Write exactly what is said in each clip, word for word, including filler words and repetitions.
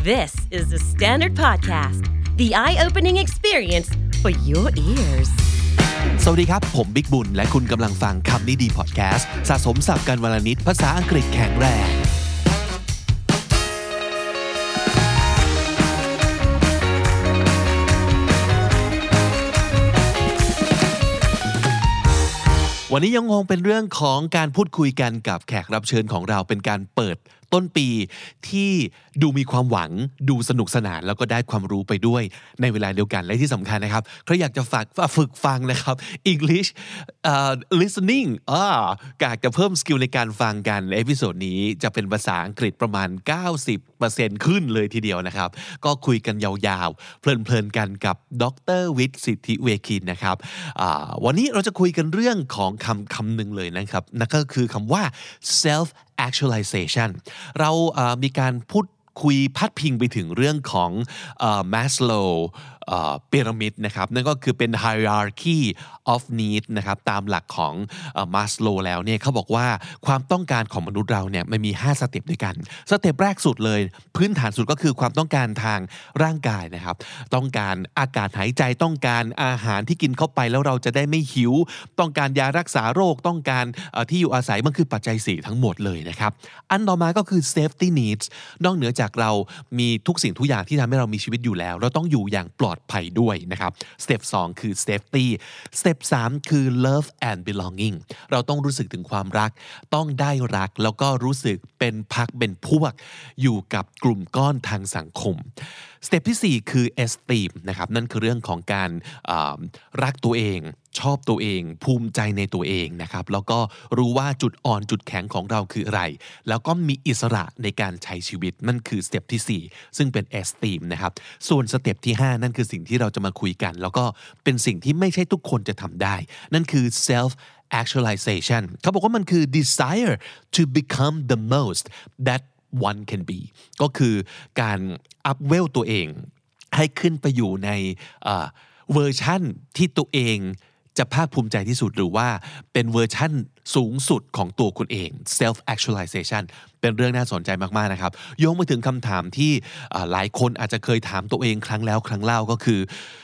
This is the Standard Podcast, the eye-opening experience for your ears. สวัสดีครับผมบิ๊กบุญและคุณกำลังฟังคำนี้ดีพอดแคสต์สะสมศัพท์กันวลนิดภาษาอังกฤษแข็งแรงวันนี้ยังคงเป็นเรื่องของการพูดคุยกันกับแขกรับเชิญของเราเป็นการเปิดต้นปีที่ดูมีความหวังดูสนุกสนานแล้วก็ได้ความรู้ไปด้วยในเวลาเดียวกันและที่สำคัญนะครับใครอยากจะฝึกฝึกฟังนะครับ English uh, listening อ่าอยากจะเพิ่มสกิลในการฟังกันเอพิโซดนี้จะเป็นภาษาอังกฤษประมาณ เก้าสิบเปอร์เซ็นต์ ขึ้นเลยทีเดียวนะครับก็คุยกันยาวๆเพลินๆกันกับดร.วิทย์สิทธิเวคินนะครับวันนี้เราจะคุยกันเรื่องของคำคำหนึ่งเลยนะครับนั่นก็คือคำว่า self actualization เราuh, มีการพูดคุยพัดพิงไปถึงเรื่องของ uh, Maslow uh, pyramid นะครับนั่นก็คือเป็น hierarchy of need นะครับตามหลักของ uh, Maslow แล้วเนี่ยเขาบอกว่าความต้องการของมนุษย์เราเนี่ยมันมีห้าสเต็ปด้วยกันสเต็ปแรกสุดเลยพื้นฐานสุดก็คือความต้องการทางร่างกายนะครับต้องการอากาศหายใจต้องการอาหารที่กินเข้าไปแล้วเราจะได้ไม่หิวต้องการยารักษาโรคต้องการuh, ที่อยู่อาศัยมันคือปัจจัยสี่ทั้งหมดเลยนะครับอันต่อมาก็คือ safety needs นอกเหนือจากเรามีทุกสิ่งทุกอย่างที่ทำให้เรามีชีวิตอยู่แล้วเราต้องอยู่อย่างปลอดภัยด้วยนะครับสเต็ปสองคือ safety สเต็ปสามคือ love and belonging เราต้องรู้สึกถึงความรักต้องได้รักแล้วก็รู้สึกเป็นพรรคเป็นพวกอยู่กับกลุ่มก้อนทางสังคมสเต็ปที่สี่คือ esteem นะครับนั่นคือเรื่องของการรักตัวเองชอบตัวเองภูมิใจในตัวเองนะครับแล้วก็รู้ว่าจุดอ่อนจุดแข็งของเราคืออะไรแล้วก็มีอิสระในการใช้ชีวิตนั่นคือสเต็ปที่สี่ซึ่งเป็น esteem นะครับส่วนสเต็ปที่ห้านั่นคือสิ่งที่เราจะมาคุยกันแล้วก็เป็นสิ่งที่ไม่ใช่ทุกคนจะทำได้นั่นคือ self actualization เขาบอกว่ามันคือ desire to become the most that one can be ก็คือการอัพเวลตัวเองให้ขึ้นไปอยู่ในเวอร์ชั่นที่ตัวเองจะภาคภูมิใจที่สุดหรือว่าเป็นเวอร์ชั่นสูงสุดของตัวคุณเอง self actualization เป็นเรื่องน่าสนใจมากๆนะครับโยงมาถึงคำถามที่หลายคนอาจจะเคยถามตัวเองครั้งแล้วครั้งเล่าก็คือ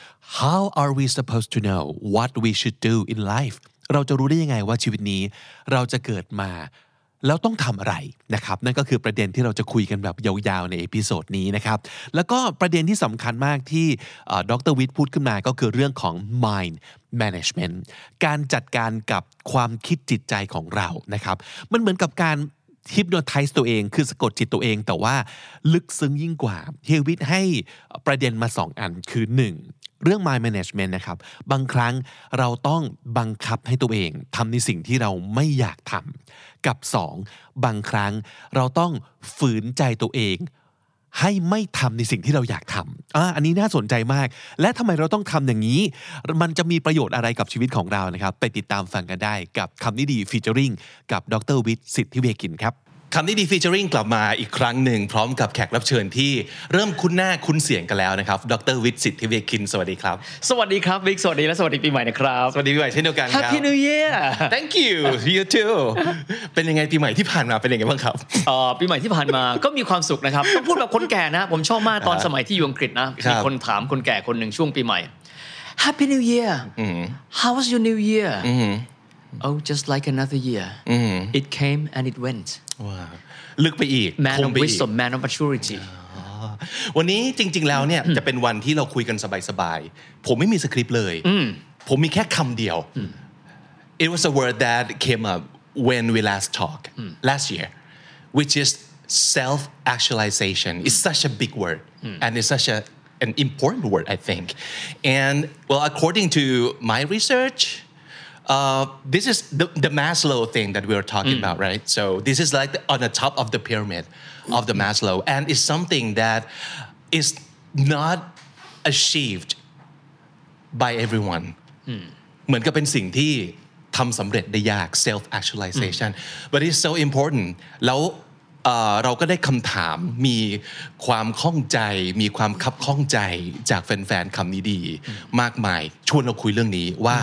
how are we supposed to know what we should do in life เราจะรู้ได้ยังไงว่าชีวิตนี้เราจะเกิดมาแล้วต้องทำอะไรนะครับนั่นก็คือประเด็นที่เราจะคุยกันแบบยาวๆในเอพิโซดนี้นะครับแล้วก็ประเด็นที่สำคัญมากที่ดร.วิทย์พูดขึ้นมาก็คือเรื่องของ mind management การจัดการกับความคิดจิตใจของเรานะครับมันเหมือนกับการhypnotize ตัวเองคือสะกดจิตตัวเองแต่ว่าลึกซึ้งยิ่งกว่าเฮียวิทย์ให้ประเด็นมาสองอันคือหนึ่งเรื่อง mind management นะครับบางครั้งเราต้องบังคับให้ตัวเองทำในสิ่งที่เราไม่อยากทำกับสองบางครั้งเราต้องฝืนใจตัวเองให้ไม่ทำในสิ่งที่เราอยากทำอ่าอันนี้น่าสนใจมากและทำไมเราต้องทำอย่างนี้มันจะมีประโยชน์อะไรกับชีวิตของเรานะครับไปติดตามฟังกันได้กับคำนี้ดีฟีเจอริงกับดร.วิทย์สิทธิเวคินครับคำนี้ดีฟีเจอริงกลับมาอีกครั้งหนึ่งพร้อมกับแขกรับเชิญที่เริ่มคุ้นหน้าคุ้นเสียงกันแล้วนะครับดร.วิทย์สิทธิเวคินสวัสดีครับสวัสดีครับวิกสวัสดีและสวัสดีปีใหม่นะครับสวัสดีปีใหม่เช่นเดียวกันครับ Happy New Year Thank you you too เป็นยังไงปีใหม่ที่ผ่านมาเป็นยังไงบ้างครับเอ่อปีใหม่ที่ผ่านมาก็มีความสุขนะครับต้องพูดแบบคนแก่นะผมชอบมากตอนสมัยที่อยู่อังกฤษนะมีคนถามคนแก่คนหนึ่งช่วงปีใหม่ Happy New Year How was your New Year Oh just like another year It came and it went ว้าวลึกไปอีก Man of wisdom Man of maturity วันนี้จริงๆแล้วเนี่ยจะเป็นวันที่เราคุยกันสบายๆผมไม่มีสคริปต์เลยผมมีแค่คำเดียว It was a word that came up when we last talked last year which is self actualization it's such a big word and it's such a an important word I think and well according to my research Uh, this is the, the Maslow thing that we were talking mm. about, right? So this is like the, on the top of the pyramid of the Maslow, and it's something that is not achieved by everyone. เหมือนกับเป็นสิ่งที่ทำสำเร็จได้ยาก self actualization, but it's so important. แล้วเราก็ได้คำถามมีความข้องใจมีความคับข้องใจจากแฟนๆคำนี้ดีมากมายชวนเราคุยเรื่องนี้ว่า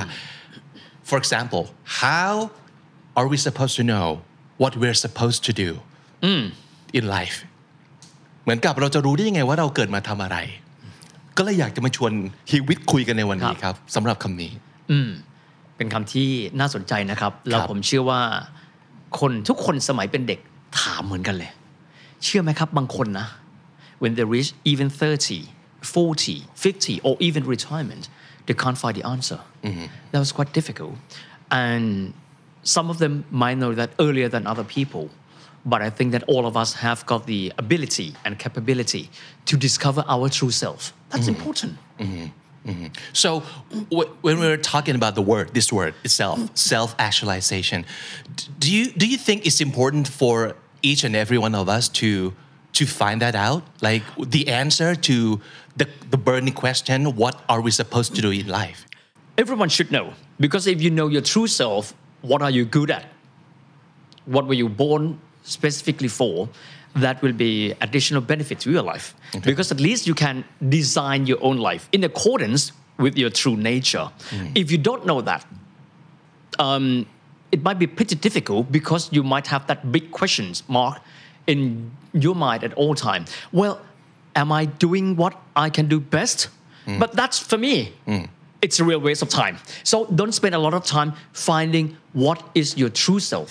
For example, how are we supposed to know what we're supposed to do mm. in life? เหมือนกับเราจะรู้ได้ยังไงว่าเราเกิดมาทำอะไรก็เลยอยากจะมาชวนฮีวิทคุยกันในวันนี้ครับสำหรับคำนี้อืมเป็นคำที่น่าสนใจนะครับแล้วผมเชื่อว่าคนทุกคนสมัยเป็นเด็กถามเหมือนกันเลยเชื่อไหมครับบางคนนะ when they reach even thirty, forty, fifty or even retirement they can't find the answer mm-hmm. that was quite difficult and some of them might know that earlier than other people but I think that all of us have got the ability and capability to discover our true self that's mm-hmm. important mm-hmm. Mm-hmm. So w- when we're talking about the word this word itself self-actualization do you do you think it's important for each and every one of us to to find that out like the answer to the the burning question what are we supposed to do in life everyone should know because if you know your true self what are you good at what were you born specifically for that will be additional benefit to your life okay. because at least you can design your own life in accordance with your true nature mm. if you don't know that um, it might be pretty difficult because you might have that big questions mark in your mind at all time well am I doing what I can do best mm. but that's for me mm. it's a real waste of time so don't spend a lot of time finding what is your true self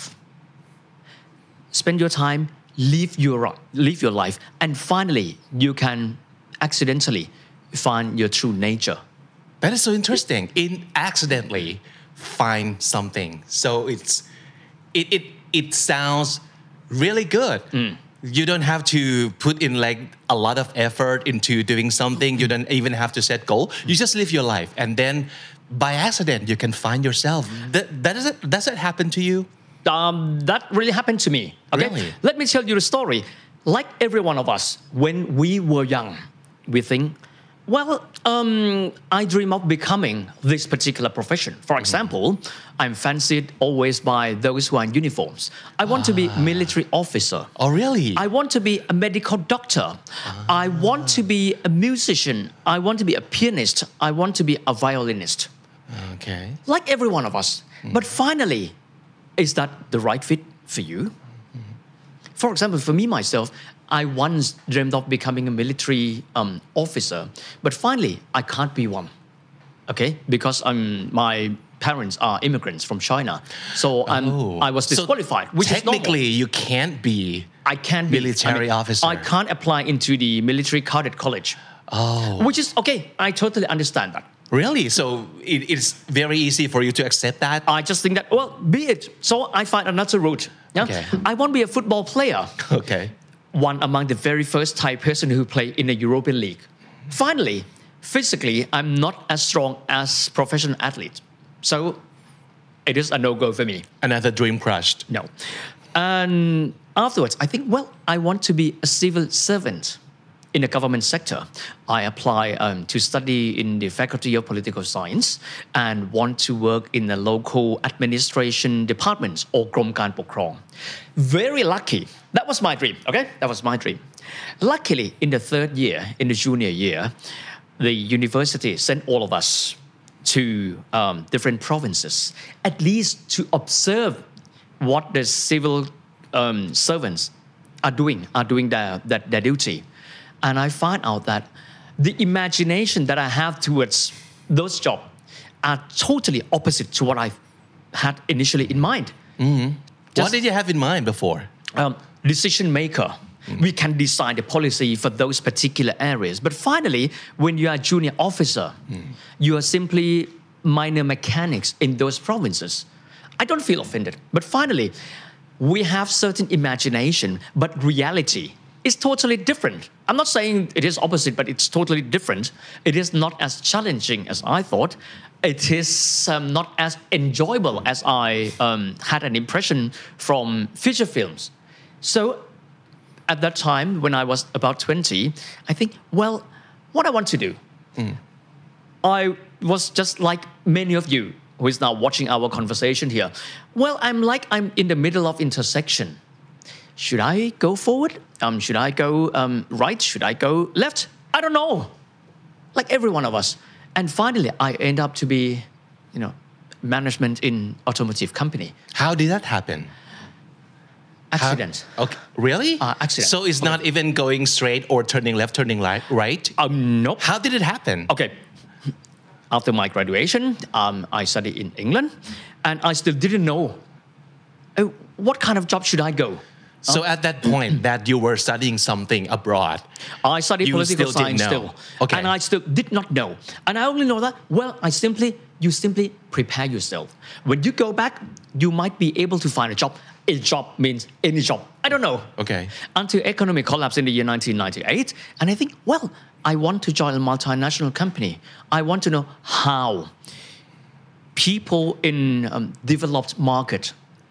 spend your time live your live your life and finally you can accidentally find your true nature that is so interesting in accidentally find something so it's it it it sounds really good mm. you don't have to put in like a lot of effort into doing something you don't even have to set goal you just live your life and then by accident you can find yourself that, that does it does it happen to you Um, that really happened to me. Okay, really? Let me tell you the story. Like every one of us, when we were young, we think, well, um, I dream of becoming this particular profession. For example, mm-hmm. I'm fancied always by those who are in uniforms. I want ah. to be a military officer. Oh, really? I want to be a medical doctor. Ah. I want to be a musician. I want to be a pianist. I want to be a violinist. Okay. Like every one of us. Mm. But finally, is that the right fit for you? Mm-hmm. For example, for me myself, I once dreamed of becoming a military um, officer, but finally I can't be one. Okay, because um, my parents are immigrants from China, so I'm, oh. I was disqualified. So which technically, is you can't be. I can't be military I mean, officer. I can't apply into the military cadet college. Oh. Which is okay. I totally understand that. Really? So it, it's very easy for you to accept that? I just think that, well, be it. So I find another route. Yeah? Okay. I want to be a football player. Okay. One among the very first Thai person who played in the European League. Finally, physically, I'm not as strong as professional athlete. So it is a no-go for me. Another dream crushed. No. And afterwards, I think, well, I want to be a civil servant. In the government sector, I apply um, to study in the Faculty of Political Science and want to work in the local administration departments or กรมการปกครอง Very lucky. That was my dream. Okay, that was my dream. Luckily, in the third year, in the junior year, the university sent all of us to um, different provinces, at least to observe what the civil um, servants are doing, are doing their, their, their duty. And I find out that the imagination that I have towards those jobs are totally opposite to what I had initially in mind. Mm-hmm. What did you have in mind before? Um, decision maker. Mm-hmm. We can design the policy for those particular areas. But finally, when you are a junior officer, mm-hmm. you are simply minor mechanics in those provinces. I don't feel offended. But finally, we have certain imagination, but reality is totally different. I'm not saying it is opposite, but it's totally different. It is not as challenging as I thought. It is um, not as enjoyable as I um, had an impression from feature films. So at that time, when I was about twenty, I think, well, what I want to do. Mm. I was just like many of you who is now watching our conversation here. Well, I'm like I'm in the middle of intersection. Should I go forward? Um, should I go um, right? Should I go left? I don't know. Like every one of us. And finally, I end up to be, you know, management in automotive company. How did that happen? accident How, okay, really? Uh, accident. So it's not even going straight or turning left, turning right, right? um, nope How did it happen? okay after my graduation um, I studied in England and I still didn't know uh, what kind of job should I go. So at that point that you were studying something abroad, I studied you political still didn't science know. still. Okay. And I still did not know. And I only know that, well, I simply, you simply prepare yourself. When you go back, you might be able to find a job. A job means any job. I don't know. Okay. Until economic collapse in the year nineteen ninety-eight. And I think, well, I want to join a multinational company. I want to know how people in um, developed market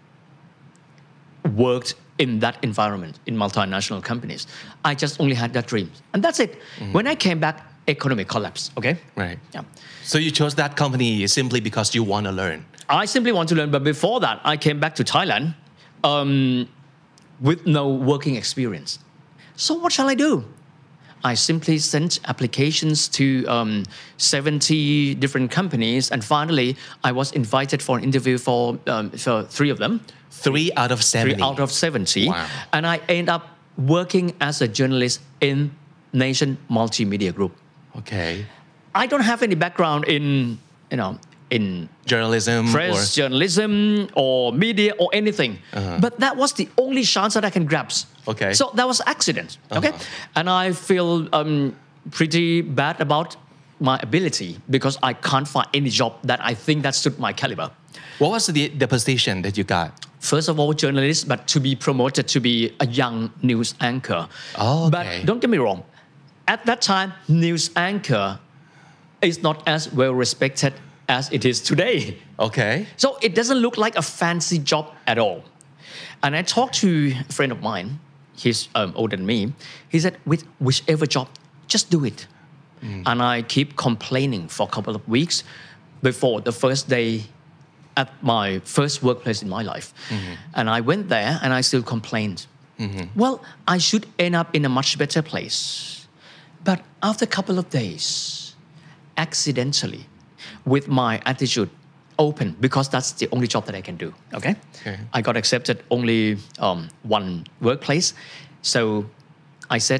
worked in that environment in multinational companies. I just only had that dream. And that's it. Mm-hmm. When I came back, economic collapse, okay? Right. Yeah. So you chose that company simply because you want to learn. I simply want to learn, but before that, I came back to Thailand um, with no working experience. So what shall I do? I simply sent applications to um, seventy different companies, and finally, I was invited for an interview for, um, for three of them. Three out of seventy. Three out of seventy. Wow. And I ended up working as a journalist in Nation Multimedia Group. Okay. I don't have any background in, you know, in Journalism press, or... journalism or media or anything. Uh-huh. But that was the only chance that I can grasp. Okay. So that was accident. Okay. Uh-huh. And I feel um, pretty bad about my ability because I can't find any job that I think that suit my caliber. What was the, the position that you got? First of all, journalist, but to be promoted to be a young news anchor. Oh, okay. But don't get me wrong. At that time, news anchor is not as well respected as it is today. Okay. So it doesn't look like a fancy job at all. And I talked to a friend of mine, he's um, older than me. He said, with whichever job, just do it. Mm. And I keep complaining for a couple of weeks before the first day at my first workplace in my life. Mm-hmm. And I went there and I still complained. Mm-hmm. Well, I should end up in a much better place. But after a couple of days, accidentally, with my attitude open, because that's the only job that I can do, okay? okay. I got accepted only um, one workplace. So I said,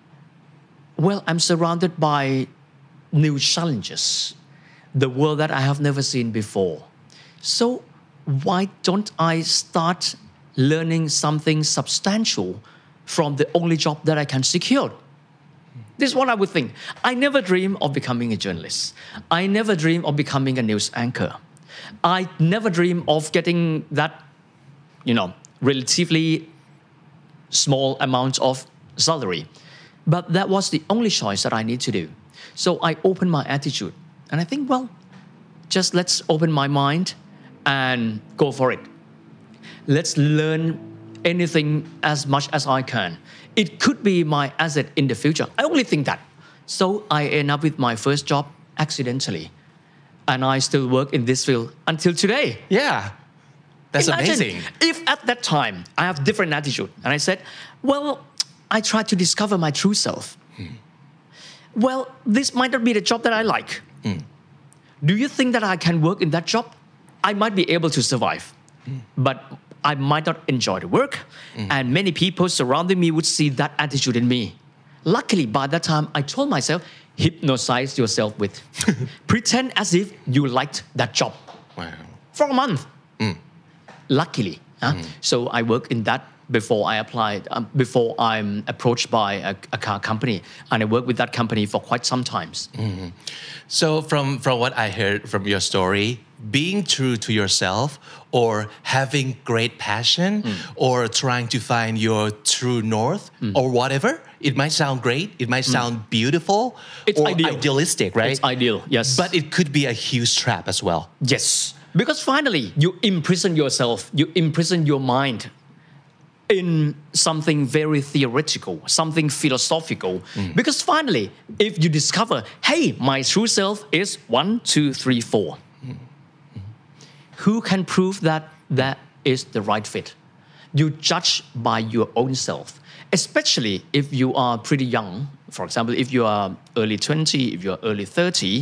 well, I'm surrounded by new challenges, the world that I have never seen before. So why don't I start learning something substantial from the only job that I can secure? This is what I would think. I never dream of becoming a journalist. I never dream of becoming a news anchor. I never dream of getting that, you know, relatively small amount of salary. But that was the only choice that I need to do. So I opened my attitude. And I think, well, just let's open my mind and go for it. Let's learn anything as much as I can. It could be my asset in the future. I only think that. So I end up with my first job accidentally. And I still work in this field until today. Yeah. That's Imagine amazing. If at that time I have different attitude and I said, well, I tried to discover my true self. Hmm. Well, this might not be the job that I like. Hmm. Do you think that I can work in that job? I might be able to survive, hmm. but I might not enjoy the work, mm. and many people surrounding me would see that attitude in me. Luckily, by that time, I told myself, hypnotize yourself with. Pretend as if you liked that job. Wow. For a month. Mm. Luckily. Huh? Mm. So I worked in that before I applied, um, before I'm approached by a, a car company. And I worked with that company for quite some times. Mm-hmm. So from, from what I heard from your story, being true to yourself or having great passion mm. or trying to find your true north mm. or whatever, it might sound great, it might sound mm. beautiful it's or ideal. idealistic, right? It's ideal, yes. But it could be a huge trap as well. Yes, because finally you imprison yourself, you imprison your mind in something very theoretical, something philosophical. Mm. Because finally, if you discover, hey, my true self is one, two, three, four. Mm. Mm. Who can prove that that is the right fit? You judge by your own self, especially if you are pretty young. For example, if you are early twenty, if you are early thirty,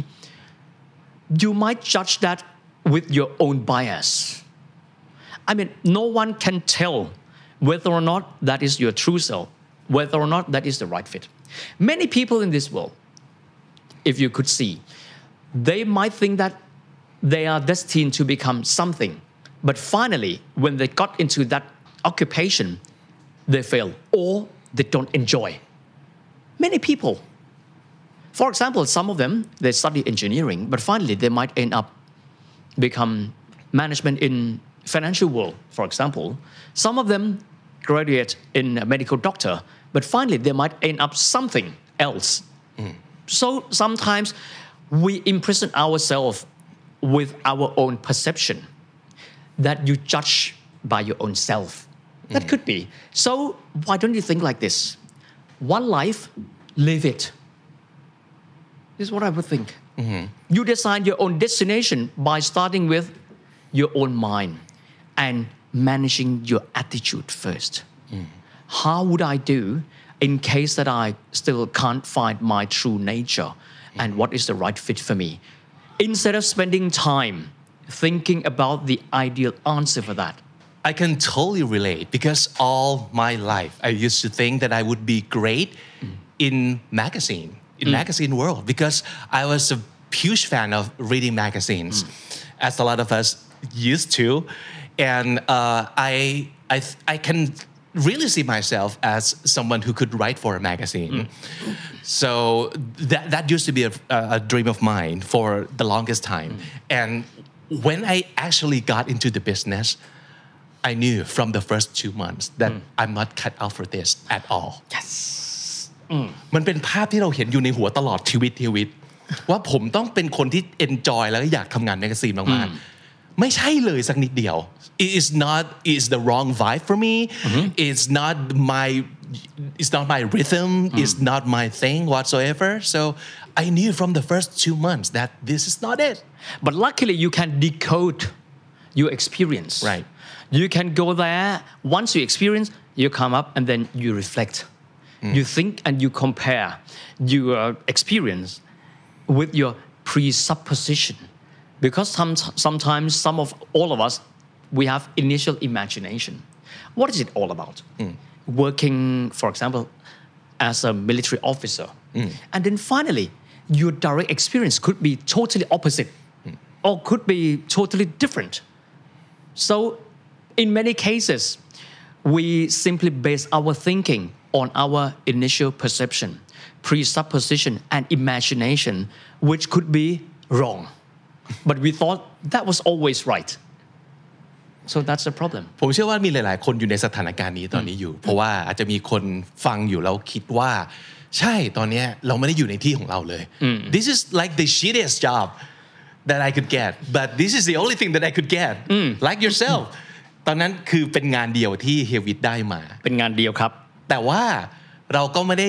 you might judge that with your own bias. I mean, no one can tell whether or not that is your true self, whether or not that is the right fit. Many people in this world, if you could see, they might think that they are destined to become something, but finally, when they got into that occupation, they fail or they don't enjoy. Many people, for example, some of them, they study engineering, but finally they might end up become management in financial world, for example. Some of them graduate in a medical doctor, but finally they might end up something else. Mm. So sometimes we imprison ourselves with our own perception that you judge by your own self. That mm. could be. So why don't you think like this? One life, live it. This is what I would think. Mm-hmm. You design your own destination by starting with your own mind and managing your attitude first. Mm. How would I do in case that I still can't find my true nature mm. and what is the right fit for me? Instead of spending time thinking about the ideal answer for that. I can totally relate because all my life I used to think that I would be great mm. in magazine, in mm. magazine world because I was a huge fan of reading magazines, mm. as a lot of us used to, and uh, I I I can really see myself as someone who could write for a magazine. Mm. So that that used to be a, a dream of mine for the longest time, mm. and when I actually got into the business, I knew from the first two months that mm. I'm not cut out for this at all. Yes. มันเป็นภาพที่เราเห็นอยู่ในหัวตลอดชีวิตชีวิตว่าผมต้องเป็นคนที่ enjoy แล้วก็อยากทำงานแมกกาซีนมากๆไม่ใช่เลยสักนิดเดียว it is not it is the wrong vibe for me mm-hmm. it's not my it's not my rhythm mm. it's not my thing whatsoever so I knew from the first two months that this is not it but luckily you can decode your experience right you can go there once you experience you come up and then you reflect mm. you think and you compare your experience with your presupposition because some, sometimes some of all of us we have initial imagination what is it all about mm. working for example as a military officer mm. and then finally your direct experience could be totally opposite mm. or could be totally different so in many cases we simply base our thinking on our initial perception presupposition and imagination which could be wrong but we thought that was always right so that's the problem ผมเชื่อว่ามีหลายๆคนอยู่ในสถานการณ์นี้ตอนนี้อยู่เพราะว่าอาจจะมีคนฟังอยู่แล้วคิดว่าใช่ตอนนี้เราไม่ได้อยู่ในที่ของเราเลย this is like the shittiest job that I could get but this is the only thing that I could get like yourself ตอนนั้นคือเป็นงานเดียวที่เฮวิตได้มาเป็นงานเดียวครับแต่ว่าเราก็ไม่ได้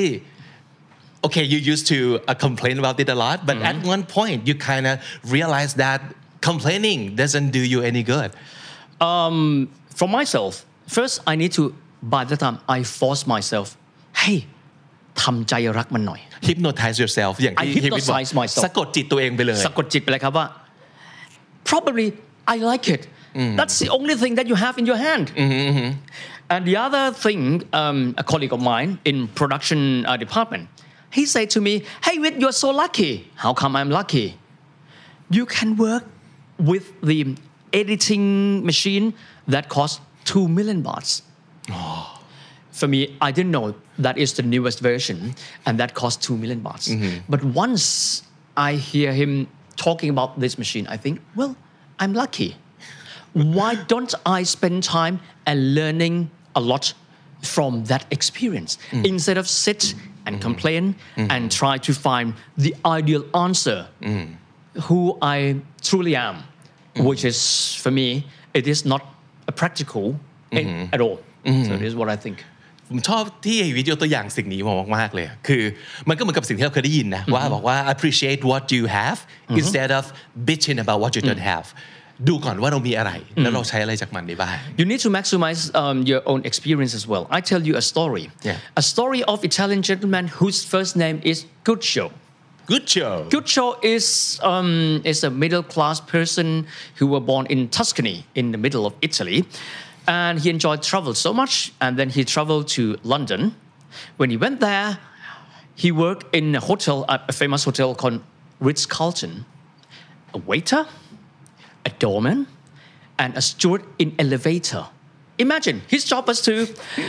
okay you used to uh, complain about it a lot but mm-hmm. at one point you kind of realize that complaining doesn't do you any good um, for myself first I need to by the time I force myself hey ทำใจรักมันหน่อย hypnotize yourself อย่างที่ I hypnotize myself สะกดจิตตัวเองไปเลยสะกดจิตไปเลยครับว่า probably I like it mm. that's the only thing that you have in your hand mm-hmm. and the other thing um, a colleague of mine in production uh, department he said to me hey Wit you're so lucky how come I'm lucky you can work with the editing machine that costs two million bahts oh. for me I didn't know that is the newest version and that costs two million bahts mm-hmm. but once I hear him talking about this machine I think well I'm lucky why don't I spend time and learning a lot from that experience mm. instead of sit and mm-hmm. complain mm-hmm. and try to find the ideal answer mm. who I truly am mm-hmm. which is for me it is not a practical mm-hmm. at all mm-hmm. so this is what I think ผมชอบที่วิดีโอตัวอย่างสิ่งนี้มากๆเลยคือมันก็เหมือนกับสิ่งที่เราเคยได้ยินนะว่าบอกว่า appreciate what you have instead of bitching about what you don't have ดูก่อนว่าเรามีอะไรแล้วเราใช้อะไรจากมันได้บ้าง You need to maximize um, your own experience as well I tell you a story yeah. a story of Italian gentleman whose first name is Guccio Guccio Guccio is um, is a middle class person who were born in Tuscany in the middle of Italy and he enjoyed travel so much and then he traveled to London. When he went there he worked in a hotel a famous hotel called Ritz-Carlton, a waiter, a doorman and a steward in elevator. Imagine his job was to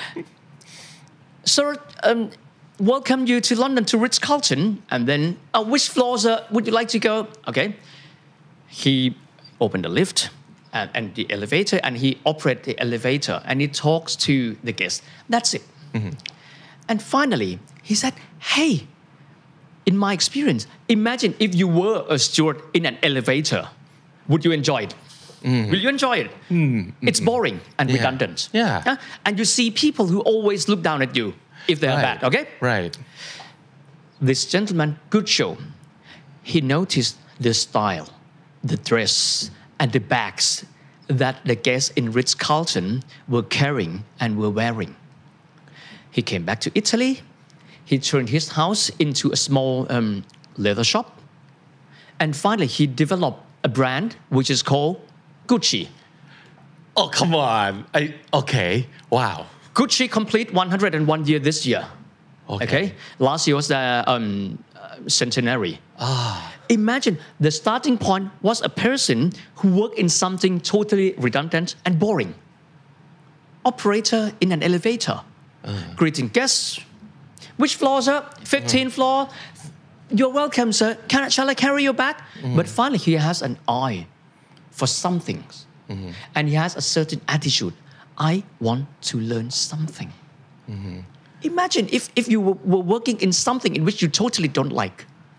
sir um, welcome you to London to Ritz-Carlton and then uh, which floors uh, would you like to go? Okay, he opened the lift and, and the elevator and he operates the elevator and he talks to the guests. That's it. Mm-hmm. And finally he said, hey, in my experience, imagine if you were a steward in an elevator, would you enjoy it? Mm. Will you enjoy it? Mm. It's boring and yeah. redundant. Yeah. Uh, and you see people who always look down at you if they're right. bad, okay? Right. This gentleman, good show, he noticed the style, the dress, and the bags that the guests in Ritz-Carlton were carrying and were wearing. He came back to Italy. He turned his house into a small um, leather shop. And finally, he developed a brand which is called Gucci. Oh, come on. I, okay. Wow. Gucci complete one hundred one year this year. Okay. okay? Last year was the um, uh, centenary. Ah. Imagine the starting point was a person who worked in something totally redundant and boring. Operator in an elevator. Uh. Greeting guests. Which floor, sir? fifteenth uh. floor. You're welcome, sir. Can, shall I carry you back? Mm-hmm. But finally, he has an eye for some things. Mm-hmm. And he has a certain attitude. I want to learn something. Mm-hmm. Imagine if, if you were, were working in something in which you totally don't like.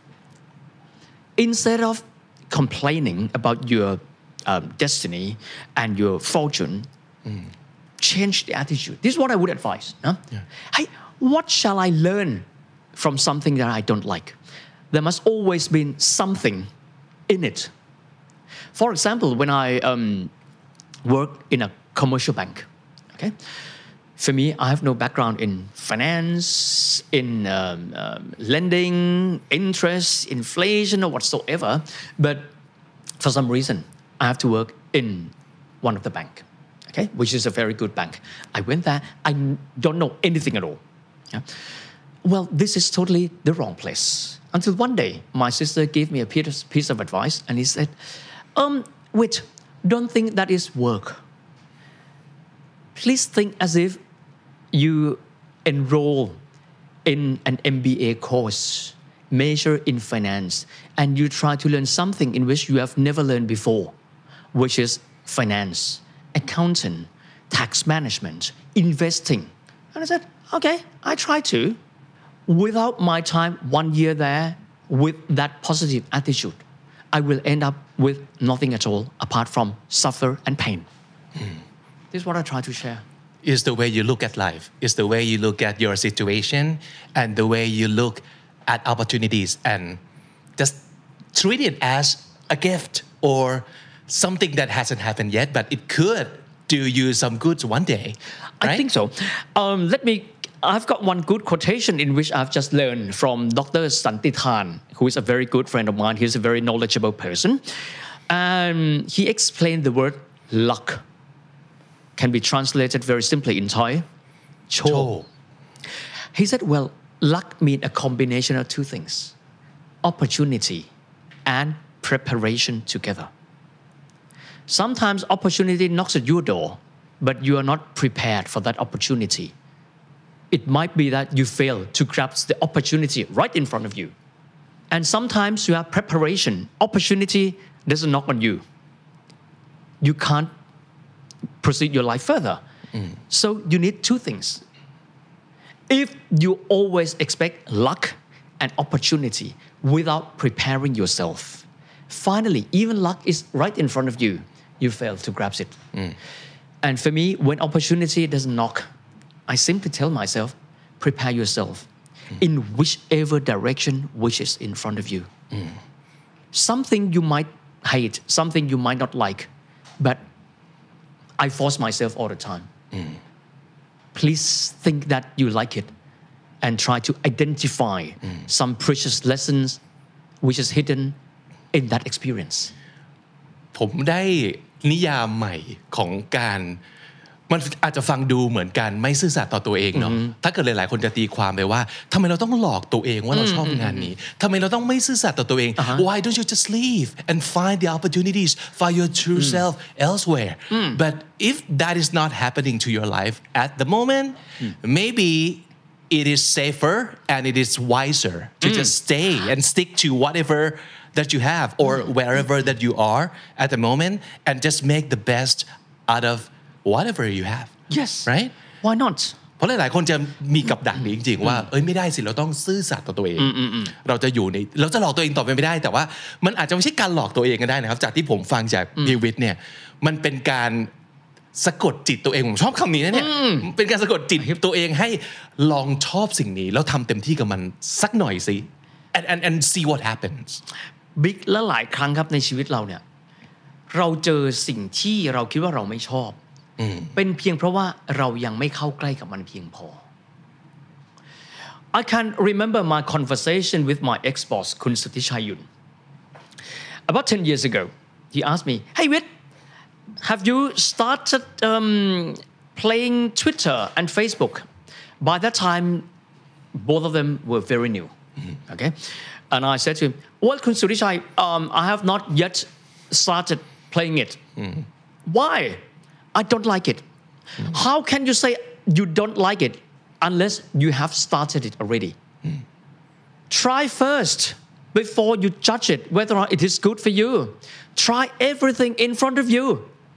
Instead of complaining about your um, destiny and your fortune, mm. change the attitude. This is what I would advise. Huh? Yeah. Hey, what shall I learn from something that I don't like? There must always be something in it. For example, when I um, work in a commercial bank, okay, for me, I have no background in finance, in um, um, lending, interest, inflation, or whatsoever. But for some reason, I have to work in one of the bank, okay, which is a very good bank. I went there. I don't know anything at all. Yeah? Well, this is totally the wrong place. Until one day, my sister gave me a piece, piece of advice, and he said, um, wait, don't think that is work. Please think as if you enroll in an M B A course, major in finance, and you try to learn something in which you have never learned before, which is finance, accounting, tax management, investing. And I said, okay, I try to. Without my time, one year there, with that positive attitude, I will end up with nothing at all apart from suffer and pain. Mm. This is what I try to share. It's the way you look at life. It's the way you look at your situation and the way you look at opportunities and just treat it as a gift or something that hasn't happened yet, but it could do you some good one day. Right? I think so. Um, let me I've got one good quotation in which I've just learned from Doctor Santithan, who is a very good friend of mine. He's a very knowledgeable person. Um, he explained the word luck. Can be translated very simply in Thai. Cho. He said, well, luck means a combination of two things. Opportunity and preparation together. Sometimes opportunity knocks at your door, but you are not prepared for that opportunity. It might be that you fail to grasp the opportunity right in front of you. And sometimes you have preparation. Opportunity doesn't knock on you. You can't proceed your life further. Mm. So you need two things. If you always expect luck and opportunity without preparing yourself, finally, even luck is right in front of you, you fail to grasp it. Mm. And for me, when opportunity doesn't knock, I simply tell myself, prepare yourself mm. in whichever direction which is in front of you. Mm. Something you might hate, something you might not like, but I force myself all the time. Mm. Please think that you like it and try to identify mm. some precious lessons which is hidden in that experience. ผมได้นิยามใหม่ของการมันอาจจะฟังดูเหมือนกันไม่ซื่อสัตย์ต่อตัวเองเนาะถ้าเกิดหลายๆคนจะตีความไปว่าทำไมเราต้องหลอกตัวเองว่าเราชอบงานนี้ทำไมเราต้องไม่ซื่อสัตย์ต่อตัวเอง Why don't you just leave and find the opportunities find your true self elsewhere but if that is not happening to your life at the moment maybe it is safer and it is wiser to just stay and stick to whatever that you have or wherever that you are at the moment and just make the best out of whatever you have yes right why not เพราะหลายๆคนจะมีกับดักนี้จริงๆว่าเอ้ยไม่ได้สิเราต้องซื่อสัตย์ต่อตัวเองเราจะอยู่ในเราจะหลอกตัวเองต่อไปไม่ได้แต่ว่ามันอาจจะไม่ใช่การหลอกตัวเองก็ได้นะครับจากที่ผมฟังจากพีวิทย์เนี่ยมันเป็นการสะกดจิตตัวเองผมชอบคำนี้นะเนี่ยเป็นการสะกดจิตตัวเองให้ลองชอบสิ่งนี้แล้วทำเต็มที่กับมันสักหน่อยสิ and and and see what happens บิ๊กและหลายครั้งครับในชีวิตเราเนี่ยเราเจอสิ่งที่เราคิดว่าเราไม่ชอบเป็นเพียงเพราะว่าเรายังไม่เข้าใกล้กับมันเพียงพอ I can remember my conversation with my ex-boss คุณสุทธิชัยยุน about ten years ago he asked me hey Wit have you started um, playing Twitter and Facebook by that time both of them were very new okay and I said to him well คุณสุทธิชัย um, I have not yet started playing it why I don't like it how can you say you don't like it unless you have started it already try first before you judge it whether or not it is good for you try everything in front of you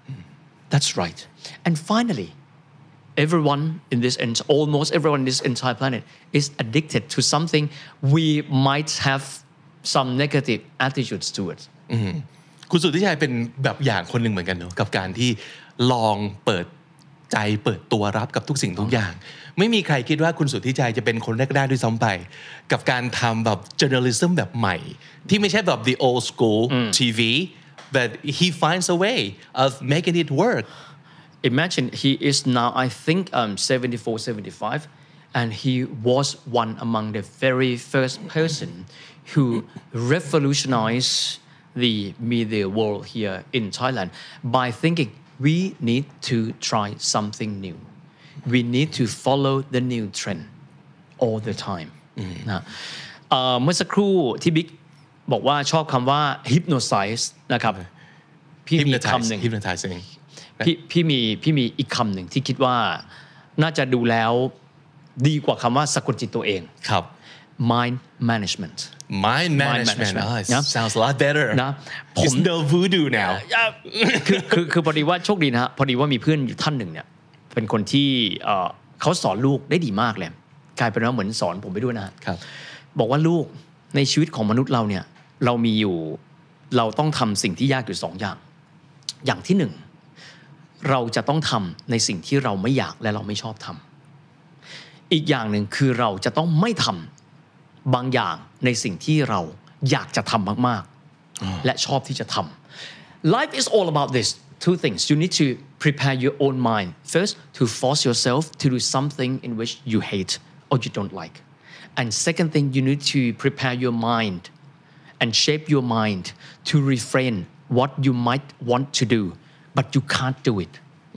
that's right and finally everyone in this almost everyone in this entire planet is addicted to something we might have some negative attitudes to it คุณสุทธิชัยเป็นแบบอย่างคนหนึ่งเหมือนกันเนาะกับการที่ลองเปิดใจเปิดตัวรับกับทุกสิ่งทุกอย่างไม่มีใครคิดว่าคุณสุทธิชัยจะเป็นคนแรกๆด้วยซ้ำไปกับการทำแบบ journalism แบบใหม่ที่ไม่ใช่แบบ the old school ที วี but he finds a way of making it work imagine he is now I think um, seventy-four seventy-five and he was one among the very first person who revolutionized the media world here in Thailand by thinking we need to try something new we need to follow the new trend all the time นะเมื่อสักครู่ที่บิ๊กบอกว่าชอบคำว่า hypnotize นะครับพี่มีคำหนึ่ง hypnotizing พี่พี่มีพี่มีอีกคำหนึ่งที่คิดว่าน่าจะดูแล้วดีกว่าคำว่าสะกดจิตตัวเองครับ mind management mind management oh, it sounds a lot better นะผม no voodoo now คือคือคือพอดีว่าโชคดีนะฮะพอดีว่ามีเพื่อนอยู่ท่านหนึ่งเนี่ยเป็นคนที่เขาสอนลูกได้ดีมากเลยกลายเป็นว่าเหมือนสอนผมไปด้วยนะครับบอกว่าลูกในชีวิตของมนุษย์เราเนี่ยเรามีอยู่เราต้องทำสิ่งที่ยากอยู่สองอย่างอย่างที่หนึ่งเราจะต้องทำในสิ่งที่เราไม่อยากและเราไม่ชอบทำอีกอย่างหนึ่งคือเราจะต้องไม่ทำบางอย่างในสิ่งที่เราอยากจะทำมากๆและชอบที่จะทำ Life is all about this two things you need to prepare your own mind first to force yourself to do something in which you hate or you don't like and second thing you need to prepare your mind and shape your mind to refrain what you might want to do but you can't do it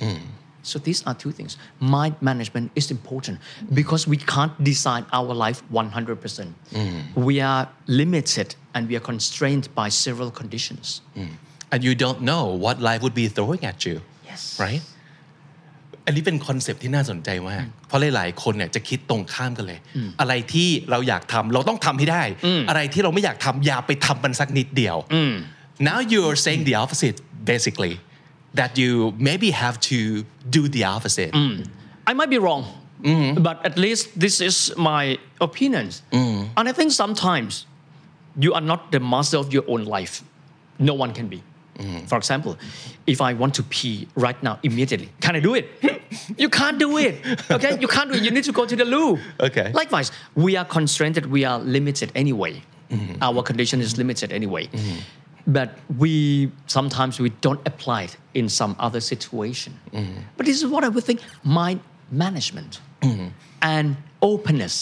so these are two things mind management is important because we can't design our life one hundred percent we are limited and we are constrained by several conditions and you don't know what life would be throwing at you yes right อันนี้เป็นคอนเซปต์ที่น่าสนใจมากเพราะหลายๆคนเนี่ยจะคิดตรงข้ามกันเลยอะไรที่เราอยากทำเราต้องทำให้ได้อะไรที่เราไม่อยากทำอย่าไปทำมันสักนิดเดียว now you're saying the opposite basically that you maybe have to do the opposite I might be wrong but at least this is my opinion and I think sometimes you are not the master of your own life no one can be for example if I want to pee right now immediately can I do it you can't do it okay you can't do it you need to go to the loo okay likewise we are constrained we are limited anyway our condition is limited anyway but we sometimes we don't apply it in some other situation but this is what I would think mind management and openness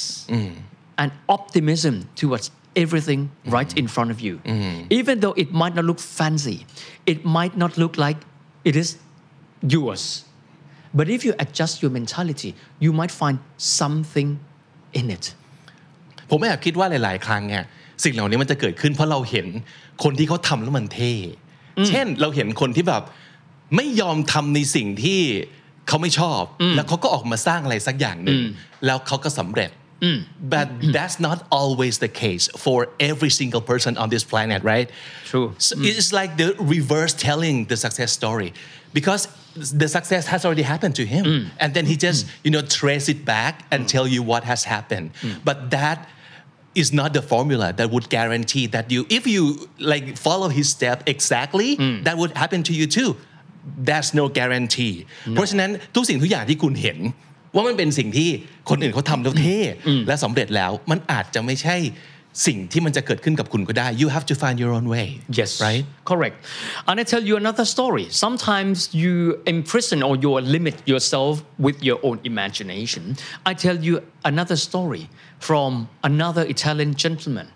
and optimism towards everything right in front of you even though it might not look fancy it might not look like it is yours but if you adjust your mentality you might find something in it ผมแอบคิดว่าหลายๆครั้งเนี่ยสิ่งเหล่านี้มันจะเกิดขึ้นเพราะเราเห็นคนที่เขาทำแล้วมันเท่เช่นเราเห็นคนที่แบบไม่ยอมทำในสิ่งที่เขาไม่ชอบแล้วเขาก็ออกมาสร้างอะไรสักอย่างหนึ่งแล้วเขาก็สำเร็จbut that's not always the case for every single person on this planet right True so it's like the reverse telling the success story because the success has already happened to him and then he just you know trace it back and tell you what has happened but that is not the formula that would guarantee that you if you like follow his step exactly that would happen to you too that's no guarantee เพราะฉะนั้นทุกสิ่งทุกอย่างที่คุณเห็นว่ามันเป็นสิ่งที่คนอื่นเขาทำแล้วเท่และสำเร็จแล้วมันอาจจะไม่ใช่สิ่งที่มันจะเกิดขึ้นกับคุณก็ได้ you have to find your own way yes right correct and I tell you another story sometimes you imprison or you limit yourself with your own imagination I tell you another story from another Italian gentleman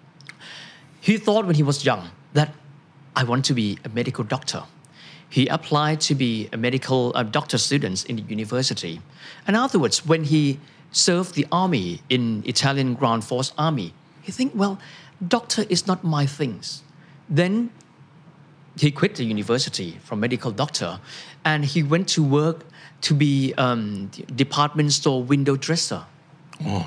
he thought when he was young that I want to be a medical doctor he applied to be a medical uh, doctor student in the university and afterwards when he served the army in Italian ground force army he think well doctor is not my things then he quit the university from medical doctor and he went to work to be um, department store window dresser oh.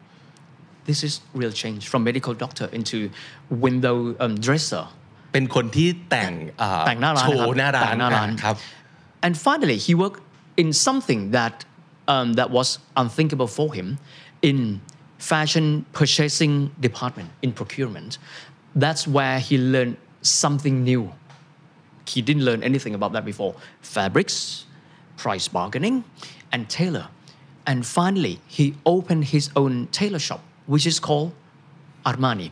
this is real change from medical doctor into window um, dresser เป็นคนที่แต่งแต่งหน้าร้านโชว์หน้าร้านครับ and finally he worked in something that um, that was unthinkable for him in fashion purchasing department in procurement that's where he learned something new he didn't learn anything about that before fabrics price bargaining and tailor and finally he opened his own tailor shop which is called Armani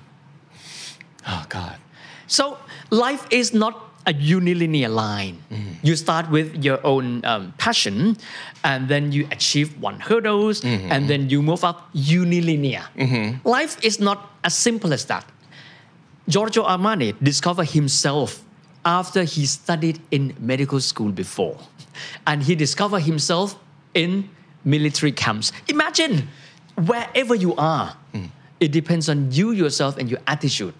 oh God so life is not a unilinear line mm. you start with your own um, passion and then you achieve one hurdles mm-hmm. and then you move up unilinear mm-hmm. life is not as simple as that Giorgio Armani discovered himself after he studied in medical school before and he discovered himself in military camps imagine wherever you are mm. it depends on you yourself and your attitude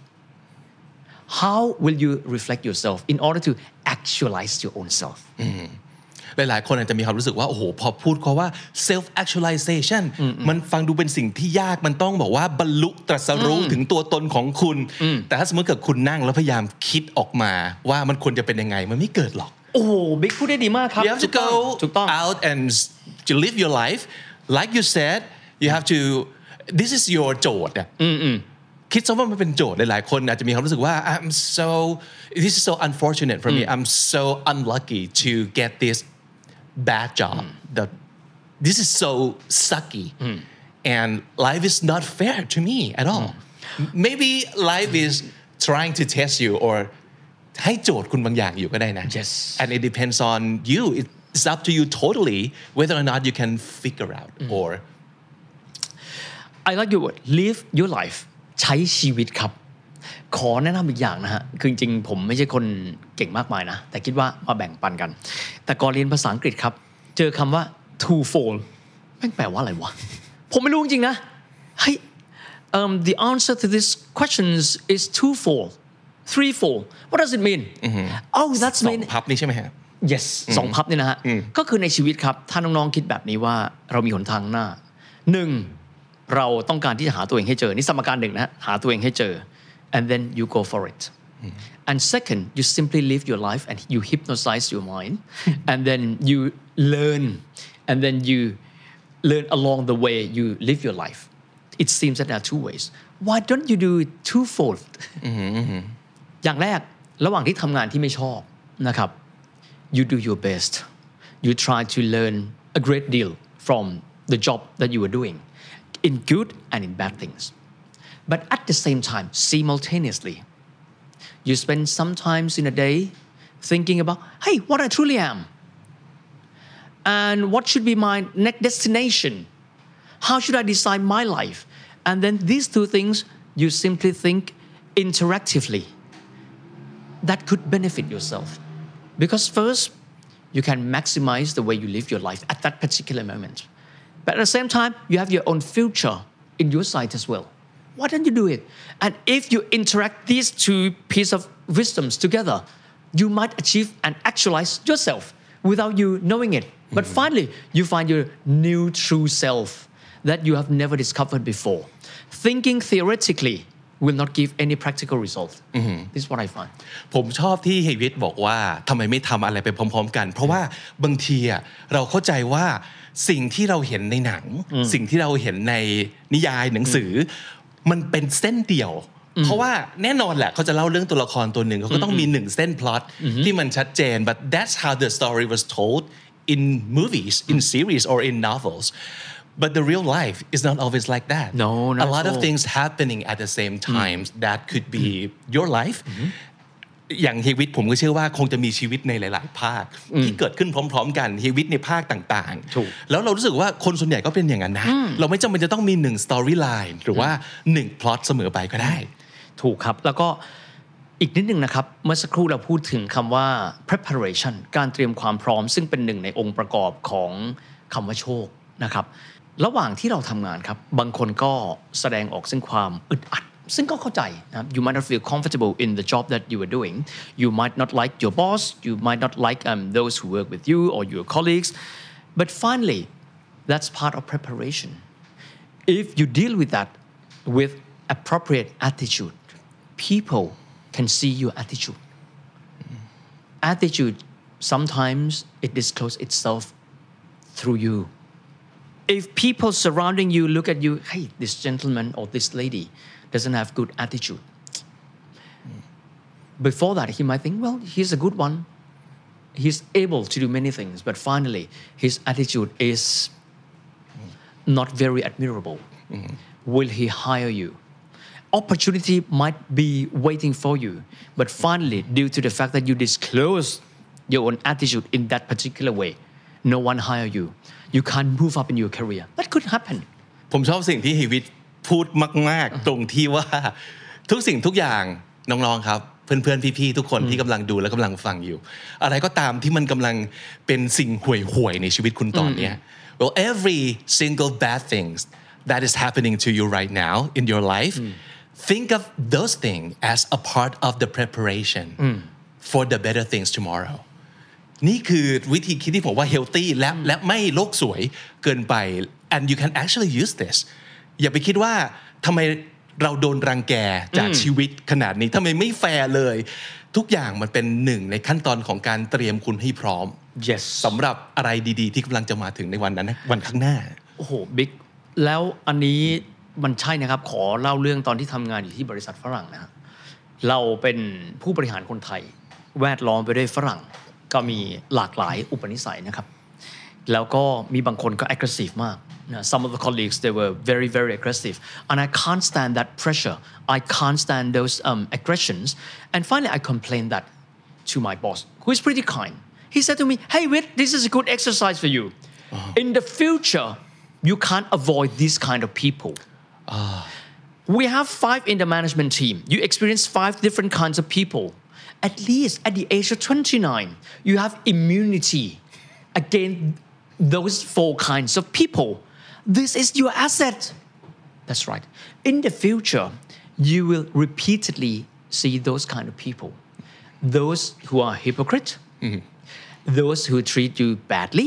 how will you reflect yourself in order to actualize your own self หลายๆคนอาจจะมีความรู้สึกว่าโอ้โหพอพูดเขาว่า self actualization มันฟังดูเป็นสิ่งที่ยากมันต้องบอกว่าบรรลุตรัสรู้ถึงตัวตนของคุณแต่ถ้าสมมติเกิดคุณนั่งแล้วพยายามคิดออกมาว่ามันควรจะเป็นยังไงมันไม่เกิดหรอกโอ้โหบิ๊กพูดได้ดีมากครับ you have to go out and to live your life like you said you have to this is your โจทย์อ่ะคิดซะว่ามันเป็นโจทย์หลายๆคนอาจจะมีความรู้สึกว่า I'm so this is so unfortunate for me I'm so unlucky to get this bad job that this is so sucky and life is not fair to me at all maybe life is trying to test you or ให้โจทย์คุณบางอย่างอยู่ก็ได้นะ yes and it depends on you it's up to you totally whether or not you can figure out or I like your word live your lifeใช้ชีวิตครับขอแนะนำอีกอย่างนะฮะคือจริงๆผมไม่ใช่คนเก่งมากมายนะแต่คิดว่ามาแบ่งปันกันแต่ก่อนเรียนภาษาอังกฤษครับเจอคำว่า twofold แม่งแปลว่าอะไรวะผมไม่รู้จริงๆนะเฮ้ย um, the answer to this questions is twofold threefold what does it mean oh that's ส mean องพับนี่ใช่ไหมฮะ yes สองพับนี่นะฮะก็คือในชีวิตครับถ้าน้องๆคิดแบบนี้ว่าเรามีหนทางหน้าหนึ่งเราต้องการที่จะหาตัวเองให้เจอนี่สมการหนึ่งนะหาตัวเองให้เจอ and then you go for it and second you simply live your life and you hypnotize your mind and then you learn and then you learn along the way you live your life it seems that there are two ways why don't you do it twofold อย่างแรกระหว่างที่ทำงานที่ไม่ชอบนะครับ you do your best you try to learn a great deal from the job that you are doing in good and in bad things but at the same time simultaneously you spend some times in a day thinking about hey what I truly am and what should be my next destination how should I design my life and then these two things you simply think interactively that could benefit yourself because first you can maximize the way you live your life at that particular moment. But at the same time, you have your own future in your sight as well. Why don't you do it? And if you interact these two pieces of wisdoms together, you might achieve and actualize yourself without you knowing it. But mm-hmm. finally, you find your new true self that you have never discovered before. Thinking theoretically will not give any practical result. Mm-hmm. This is what I find. ผมชอบที่เฮวิตบอกว่าทำไมไม่ทำอะไรไปพร้อมๆกันเพราะว่าบางทีอ่ะเราเข้าใจว่าสิ่งที่เราเห็นในหนังสิ่งที่เราเห็นในนิยายหนังสือมันเป็นเส้นเดียวเพราะว่าแน่นอนแหละเขาจะเล่าเรื่องตัวละครตัวหนึ่งเขาก็ต้องมีหนึ่งเส้นพล็อตที่มันชัดเจน but that's how the story was told in movies in series or in novels but the real life is not always like that no not a lot so. of things happening at the same time that could be your lifeอย่างเฮวิตผมก็เชื่อว่าคงจะมีชีวิตในหลายๆภาคที่เกิดขึ้นพร้อมๆกันเฮวิตในภาคต่างๆแล้วเรารู้สึกว่าคนส่วนใหญ่ก็เป็นอย่างนั้นนะเราไม่จำเป็นจะต้องมีหนึ่งสตอรี่ไลน์หรือว่าหนึ่งพล็อตเสมอไปก็ได้ถูกครับแล้วก็อีกนิดนึงนะครับเมื่อสักครู่เราพูดถึงคำว่า preparation การเตรียมความพร้อมซึ่งเป็นหนึ่งในองค์ประกอบของคำว่าโชคนะครับระหว่างที่เราทำงานครับบางคนก็แสดงออกซึ่งความอึดอัดซึ่งก็เข้าใจนะครับ you might not feel comfortable in the job that you are doing you might not like your boss you might not like um, those who work with you or your colleagues but finally that's part of preparation if you deal with that with appropriate attitude people can see your attitude attitude sometimes it discloses itself through you if people surrounding you look at you hey this gentleman or this lady doesn't have good attitude before that he might think well he's a good one he's able to do many things but finally his attitude is not very admirable mm-hmm. will he hire you opportunity might be waiting for you but finally due to the fact that you disclose your own attitude in that particular way no one hire you you can't move up in your career that could happen ผมชอบสิ่งที่เฮวิตพูดมากๆตรงที่ว่าทุกสิ่งทุกอย่างน้องๆครับเพื่อนๆพี่ๆทุกคนที่กำลังดูและกำลังฟังอยู่อะไรก็ตามที่มันกำลังเป็นสิ่งห่วยๆในชีวิตคุณตอนนี้ well every single bad things that is happening to you right now in your life think of those things as a part of the preparation for the better things tomorrow นี่คือวิธีคิดที่ผมว่า healthy และและไม่โลกสวยเกินไป and you can actually use this อย่าไปคิดว่าทำไมเราโดนรังแกจากชีวิตขนาดนี้ทำไมไม่แฟร์เลยทุกอย่างมันเป็นหนึ่งในขั้นตอนของการเตรียมคุณให้พร้อม yes สำหรับอะไรดีๆที่กำลังจะมาถึงในวันนั้นวันข้างหน้าโอ้โหบิ๊กแล้วอันนี้มันใช่นะครับขอเล่าเรื่องตอนที่ทำงานอยู่ที่บริษัทฝรั่งนะเราเป็นผู้บริหารคนไทยแวดล้อมไปด้วยฝรั่งก็มีหลากหลายอุปนิสัยนะครับแล้วก็มีบางคนก็ aggressive มากนะ some of the colleagues they were very very aggressive and I can't stand that pressure I can't stand those um, aggressions and finally I complained that to my boss who is pretty kind he said to me hey Whit this is a good exercise for you uh-huh. in the future you can't avoid these kind of people uh. we have five in the management team you experience five different kinds of people at least at the age of twenty-nine you have immunity against those four kinds of people this is your asset that's right in the future you will repeatedly see those kind of people those who are hypocrite mm-hmm. those who treat you badly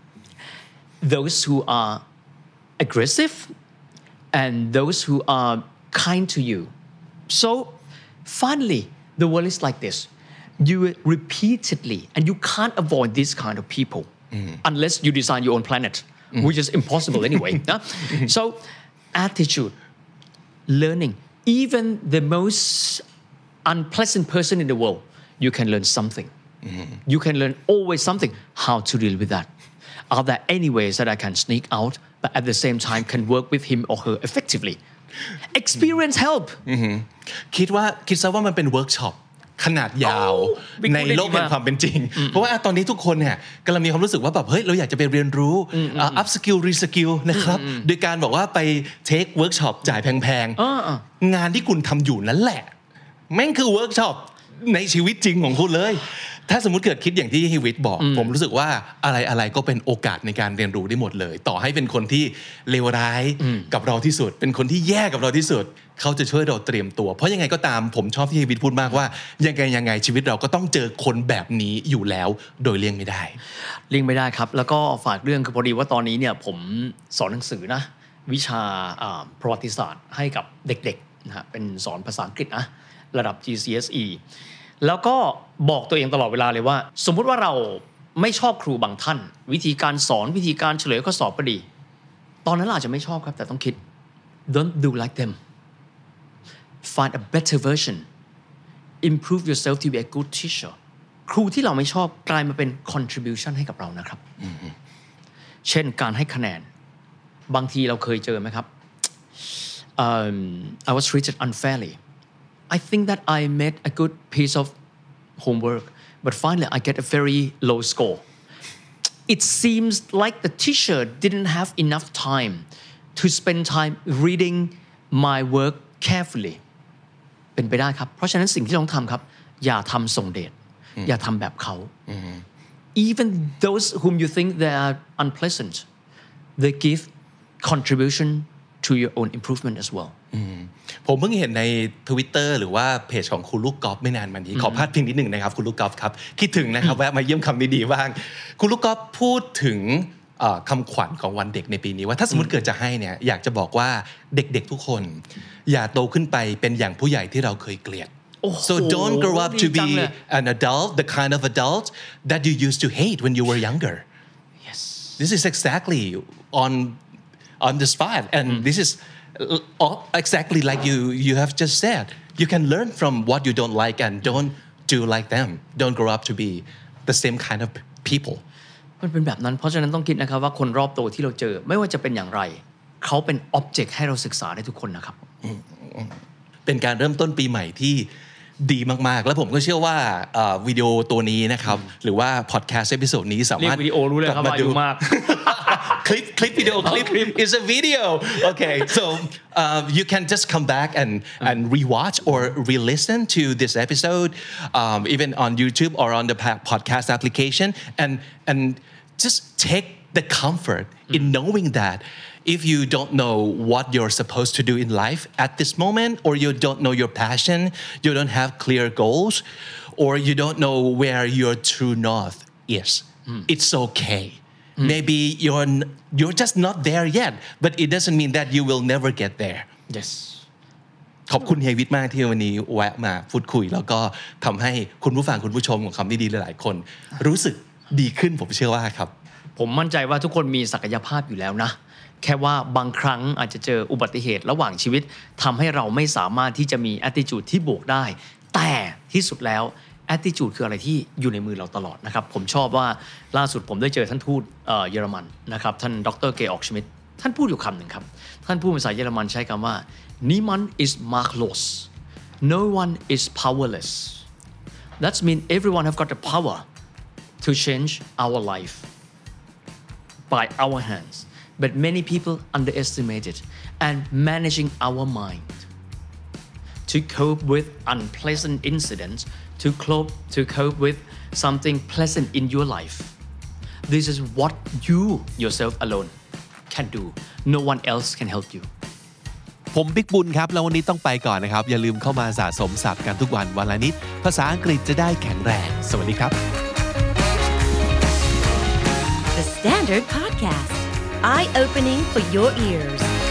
those who are aggressive and those who are kind to you so finally the world is like this you will repeatedly and you can't avoid this kind of people mm-hmm. unless you design your own planet mm-hmm. which is impossible anyway no? so attitude learning even the most unpleasant person in the world you can learn something mm-hmm. you can learn always something how to deal with that are there any ways that I can sneak out but at the same time can work with him or her effectively experience help คิดว่าคิดซะว่ามันเป็นเวิร์กช็อปขนาดยาวในโลกแห่งความเป็นจริงเพราะว่าตอนนี้ทุกคนเนี่ยกำลังมีความรู้สึกว่าแบบเฮ้ยเราอยากจะไปเรียนรู้ up skill re skill นะครับโดยการบอกว่าไป take workshop จ่ายแพงๆงานที่คุณทำอยู่นั่นแหละแม่งคือเวิร์กช็อปในชีวิตจริงของคุณเลยถ้าสมมุติเกิดคิดอย่างที่ฮิวิตบอกผมรู้สึกว่าอะไรอะไรก็เป็นโอกาสในการเรียนรู้ได้หมดเลยต่อให้เป็นคนที่เลวร้ายกับเราที่สุดเป็นคนที่แย่กับเราที่สุดเขาจะช่วยเราเตรียมตัวเพราะยังไงก็ตามผมชอบที่ฮิวิตพูดมากว่ายังไงยังไงชีวิตเราก็ต้องเจอคนแบบนี้อยู่แล้วโดยเลี่ยงไม่ได้เลี่ยงไม่ได้ครับแล้วก็ฝากเรื่องคือพอดีว่าตอนนี้เนี่ยผมสอนหนังสือนะวิชาประวัติศาสตร์ให้กับเด็กๆนะฮะเป็นสอนภาษาอังกฤษนะระดับ จี ซี เอส อี แล้วก็บอกตัวเองตลอดเวลาเลยว่าสมมุติว่าเราไม่ชอบครูบางท่านวิธีการสอนวิธีการเฉลยข้อสอบก็ดีตอนนั้นเราอาจจะไม่ชอบครับแต่ต้องคิด don't do like them find a better version improve yourself to be a good teacher ครูที่เราไม่ชอบกลายมาเป็น contribution ให้กับเรานะครับ mm-hmm. เช่นการให้คะแนนบางทีเราเคยเจอไหมครับ um, I was treated unfairly I think that I made a good piece of homework but finally I get a very low score it seems like the teacher didn't have enough time to spend time reading my work carefully เป็นไปได้ครับเพราะฉะนั้นสิ่งที่ต้องทำครับอย่าทำส่งเดชอย่าทำแบบเขา even those whom you think they are unpleasant they give contribution to your own improvement as well ผมเพิ่งเห็นใน Twitter หรือว่าเพจของคุณลูกกอล์ฟไม่นานมานี้ขอพาดพิงนิดหนึ่งนะครับคุณลูกกอล์ฟครับคิดถึงนะครับแวะมาเยี่ยมคำดีๆบ้างคุณลูกกอล์ฟพูดถึงคำขวัญของวันเด็กในปีนี้ว่าถ้าสมมติเกิดจะให้เนี่ยอยากจะบอกว่าเด็กๆทุกคนอย่าโตขึ้นไปเป็นอย่างผู้ใหญ่ที่เราเคยเกลียด so don't grow up to be an adult the kind of adult that you used to hate when you were younger yes this is exactly on on the spot and mm. this is exactly like you you have just said you can learn from what you don't like and don't do like them don't grow up to be the same kind of people มันเป็นแบบนั้นเพราะฉะนั้นต้องคิดนะครับว่าคนรอบตัวที่เราเจอไม่ว่าจะเป็นอย่างไรเขาเป็น object ให้เราศึกษาได้ทุกคนนะครับเป็นการเริ่มต้นปีใหม่ที่ดีมากๆแล้วผมก็เชื่อว่าวิดีโอตัวนี้นะครับหรือว่าพอดแคสต์เอพิโซดนี้สามารถเรียกวิดีโอรู้เลยครับว่าอยู่มาก clip clip video clip is a video okay so uh, you can just come back and and rewatch or re-listen to this episode um, even on YouTube or on the podcast application and and just take the comfort in knowing that if you don't know what you're supposed to do in life at this moment or you don't know your passion you don't have clear goals or you don't know where your true north is mm. it's okay mm. maybe you're you're just not there yet but it doesn't mean that you will never get there yes ขอบคุณเฮียวิทย์มากที่วันนี้แวะมาพูดคุยแล้วก็ทำให้คุณผู้ฟังคุณผู้ชมของคำดีๆหลายๆคนรู้สึกดีขึ้นผมเชื่อว่าครับผมมั่นใจว่าทุกคนมีศักยภาพอยู่แล้วนะแค่ว่าบางครั้งอาจจะเจออุบัติเหตุระหว่างชีวิตทำให้เราไม่สามารถที่จะมี attitude ที่บวกได้แต่ที่สุดแล้ว attitude คืออะไรที่อยู่ในมือเราตลอดนะครับผมชอบว่าล่าสุดผมได้เจอท่านทูตเยอรมันนะครับท่านดร.เกอร์กชมิดท่านพูดอยู่คำหนึ่งครับท่านพูดภาษาเยอรมันใช้คำว่า niemand ist machtlos no one is powerless that means everyone have got the power to change our life by our hands but many people underestimate it and managing our mind to cope with unpleasant incidents to cope to cope with something pleasant in your life this is what you yourself alone can do no one else can help you ผมบิ๊กบุญครับแล้ววันนี้ต้องไปก่อนนะครับอย่าลืมเข้ามาสะสมศัพท์กันทุกวันวันละนิดภาษาอังกฤษจะได้แข็งแรงสวัสดีครับ The Standard Podcast Eye-opening for your ears